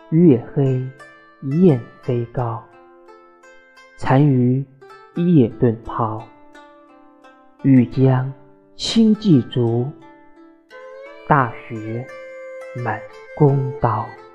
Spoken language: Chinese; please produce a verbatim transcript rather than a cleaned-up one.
月黑雁飞高，单于夜遁抛。欲将轻骑逐，大雪满弓刀。